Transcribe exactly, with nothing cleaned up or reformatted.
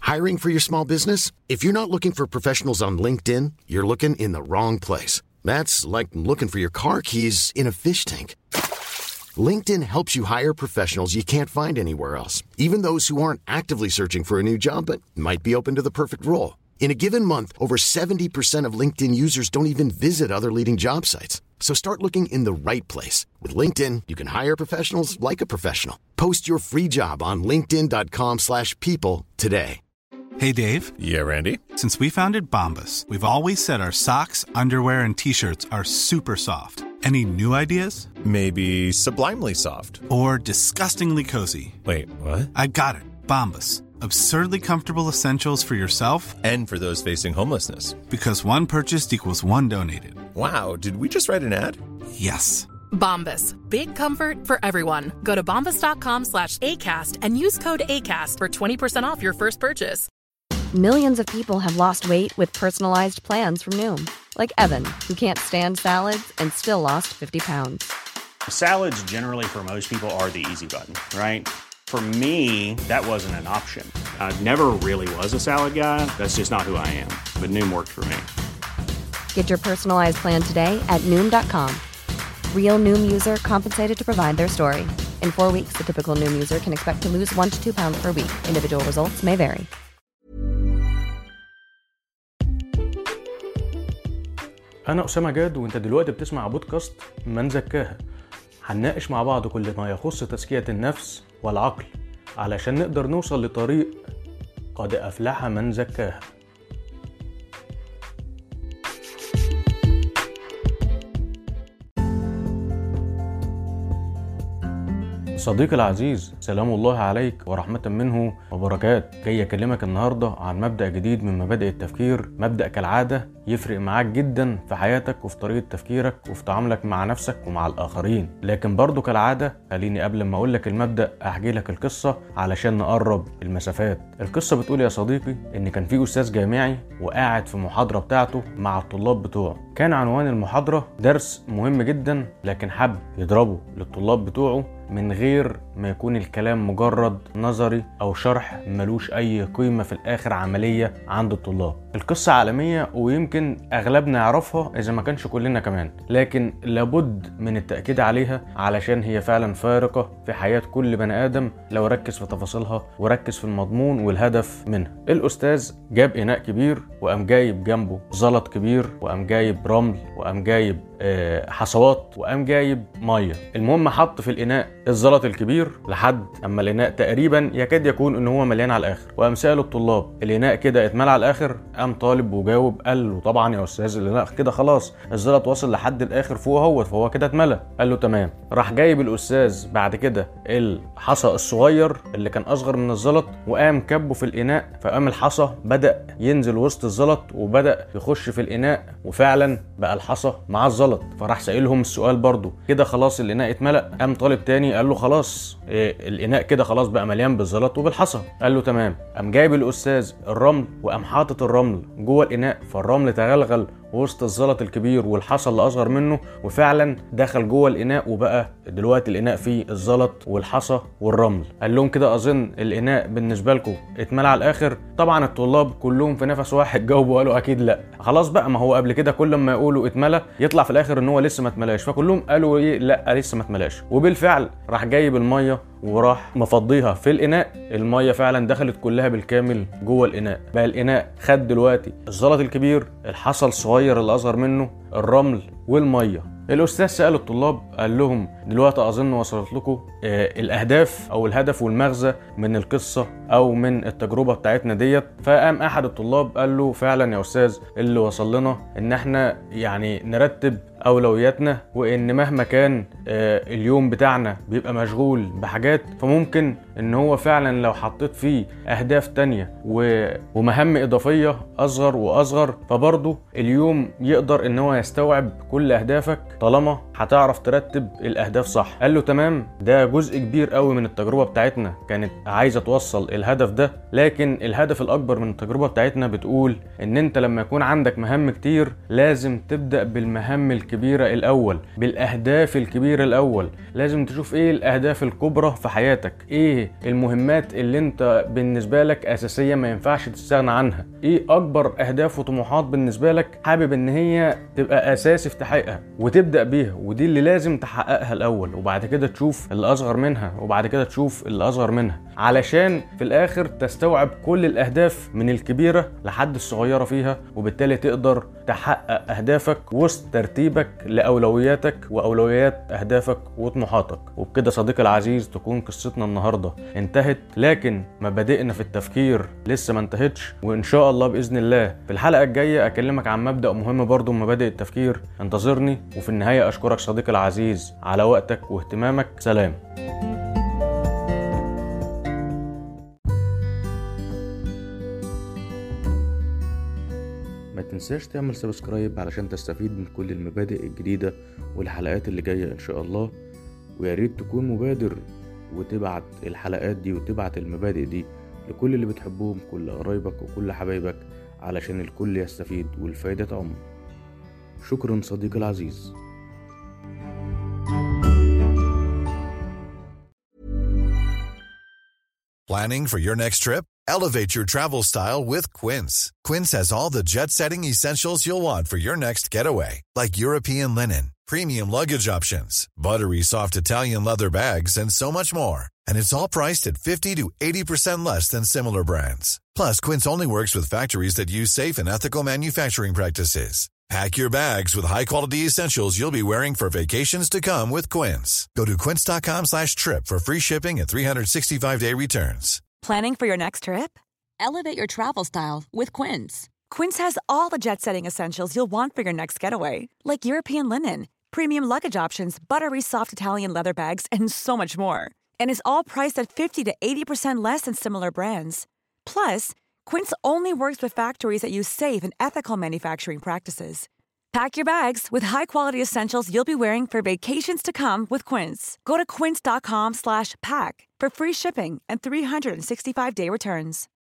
Hiring for your small business? If you're not looking for professionals on LinkedIn, you're looking in the wrong place. That's like looking for your car keys in a fish tank. LinkedIn helps you hire professionals you can't find anywhere else, even those who aren't actively searching for a new job but might be open to the perfect role. In a given month, over seventy percent of LinkedIn users don't even visit other leading job sites. So start looking in the right place. With LinkedIn, you can hire professionals like a professional. Post your free job on linkedin dot com slash people today. Hey, Dave. Yeah, Randy. Since we founded Bombas, we've always said our socks, underwear, and T-shirts are super soft. Any new ideas? Maybe sublimely soft. Or disgustingly cozy. Wait, what? I got it. Bombas. Absurdly comfortable essentials for yourself and for those facing homelessness. Because one purchased equals one donated. Wow, did we just write an ad? Yes. Bombas. Big comfort for everyone. Go to bombas dot com slash ACAST and use code ACAST for twenty percent off your first purchase. Millions of people have lost weight with personalized plans from Noom. Like Evan, who can't stand salads and still lost fifty pounds. Salads generally for most people are the easy button, right? For me, that wasn't an option. I never really was a salad guy. That's just not who I am. But Noom worked for me. Get your personalized plan today at noom dot com. Real Noom user compensated to provide their story. In four weeks, the typical Noom user can expect to lose one to two pounds per week. Individual results may vary. أنا أسامة جاد، وأنت دلوقتي بتسمع بودكاست من زكاها. هنناقش مع بعض كل ما يخص تزكية النفس والعقل علشان نقدر نوصل لطريق قد أفلح من زكاها. صديقي العزيز، سلام الله عليك ورحمة منه وبركات. جاي أكلمك النهاردة عن مبدأ جديد من مبادئ التفكير، مبدأ كالعادة يفرق معاك جدا في حياتك وفي طريقة تفكيرك وفي تعاملك مع نفسك ومع الآخرين. لكن برضو كالعادة خليني قبل ما أقولك المبدأ أحكي لك القصة علشان نقرب المسافات. القصة بتقول يا صديقي إن كان في أستاذ جامعي وقاعد في محاضرة بتاعته مع الطلاب بتوعه. كان عنوان المحاضرة درس مهم جدا، لكن حب يضربه للطلاب بتوعه من غير ما يكون الكلام مجرد نظري أو شرح ملوش أي قيمة في الآخر عملية عند الطلاب. القصة عالمية ويمكن أغلبنا يعرفها إذا ما كانش كلنا كمان، لكن لابد من التأكيد عليها علشان هي فعلا فارقة في حياة كل بني آدم لو ركز في تفاصيلها وركز في المضمون والهدف منها. الأستاذ جاب إناء كبير وقام جايب جنبه زلط كبير وقام جايب رمل وقام جايب حصوات وقام جايب ميه. المهم حط في الاناء الزلط الكبير لحد اما الاناء تقريبا يكاد يكون ان هو مليان على الاخر، وقام سأل الطلاب الاناء كده اتملى على الاخر؟ قام طالب وجاوب قال له طبعا يا استاذ الاناء كده خلاص الزلط وصل لحد الاخر فوق اهوت، فهو كده اتملى. قال له تمام. راح جايب الاستاذ بعد كده الحصى الصغير اللي كان اصغر من الزلط وقام كبه في الاناء، فقام الحصى بدأ ينزل وسط الزلط وبدأ يخش في الاناء، وفعلا بقى الحصى مع الزلط. فراح سائلهم السؤال برضو كده خلاص الاناء اتملأ؟ قام طالب تاني قال له خلاص إيه الاناء كده خلاص بقى مليان بالزلط وبالحصى. قال له تمام. قام جايب الاستاذ الرمل وقام حاطط الرمل جوه الاناء، فالرمل تغلغل وسط الزلط الكبير والحصى اللي اصغر منه، وفعلا دخل جوه الاناء وبقى دلوقتي الاناء فيه الزلط والحصى والرمل. قال لهم كده اظن الاناء بالنسبه لكم اتملى على الاخر؟ طبعا الطلاب كلهم في نفس واحد جاوبوا وقالوا اكيد لا. خلاص بقى، ما هو قبل كده كل ما يقولوا اتملى يطلع في الاخر ان هو لسه ما اتملاش، فكلهم قالوا ايه لا لسه ما اتملاش. وبالفعل راح جايب الميه وراح مفضيها في الاناء، الميه فعلا دخلت كلها بالكامل جوه الاناء. بقى الاناء خد دلوقتي الزلط الكبير، الحصى الصغير اللي اصغر منه، الرمل والميه. الاستاذ سأل الطلاب قال لهم دلوقتي اظن وصلت لكم آه الاهداف او الهدف والمغزى من القصه او من التجربه بتاعتنا ديت. فقام احد الطلاب قال له فعلا يا استاذ اللي وصل لنا ان احنا يعني نرتب اولوياتنا، وان مهما كان آه اليوم بتاعنا بيبقى مشغول بحاجات، فممكن ان هو فعلا لو حطيت فيه اهداف تانية ومهام اضافيه اصغر واصغر فبرضه اليوم يقدر ان هو يستوعب كل اهدافك طالما هتعرف ترتب الاهداف صح. قال له تمام، ده جزء كبير قوي من التجربة بتاعتنا كانت عايزة توصل الهدف ده، لكن الهدف الاكبر من التجربة بتاعتنا بتقول ان انت لما يكون عندك مهام كتير لازم تبدأ بالمهام الكبيرة الاول، بالاهداف الكبيرة الاول. لازم تشوف ايه الاهداف الكبرى في حياتك، ايه المهمات اللي انت بالنسبة لك اساسية ما ينفعش تستغنى عنها، ايه اكبر اهداف وطموحات بالنسبة لك حابب ان هي تبقى اساسي في تحقيقها وتبدأ بيها، ودي اللي لازم تحققها الاول، وبعد كده تشوف اللي اصغر منها، وبعد كده تشوف اللي اصغر منها، علشان في الاخر تستوعب كل الاهداف من الكبيرة لحد الصغيرة فيها، وبالتالي تقدر تحقق اهدافك وسط ترتيبك لاولوياتك واولويات اهدافك وطموحاتك. وبكده صديقي العزيز تكون قصتنا النهاردة انتهت، لكن مبادئنا في التفكير لسه ما انتهتش، وان شاء الله باذن الله في الحلقة الجاية اكلمك عن مبدأ مهم برضو من مبادئ التفكير. انتظرني، وفي النهاية اشكرك صديقي العزيز على وقتك واهتمامك. سلام. ما تنساش تعمل سبسكرايب علشان تستفيد من كل المبادئ الجديدة والحلقات اللي جاية ان شاء الله، ويا ريت تكون مبادر وتبعت الحلقات دي وتبعت المبادئ دي لكل اللي بتحبهم، كل قرايبك وكل حبايبك، علشان الكل يستفيد والفايدة تعم. شكرا صديقي العزيز. Planning for your next trip? Elevate your travel style with Quince. Quince has all the jet-setting essentials you'll want for your next getaway, like European linen, premium luggage options, buttery soft Italian leather bags, and so much more. And it's all priced at fifty to eighty percent less than similar brands. Plus, Quince only works with factories that use safe and ethical manufacturing practices. Pack your bags with high-quality essentials you'll be wearing for vacations to come with Quince. Go to quince.com slash trip for free shipping and three sixty-five day returns. Planning for your next trip? Elevate your travel style with Quince. Quince has all the jet-setting essentials you'll want for your next getaway, like European linen, premium luggage options, buttery soft Italian leather bags, and so much more. And is all priced at fifty to eighty percent less than similar brands. Plus, Quince only works with factories that use safe and ethical manufacturing practices. Pack your bags with high-quality essentials you'll be wearing for vacations to come with Quince. Go to quince.com slash pack for free shipping and three sixty-five day returns.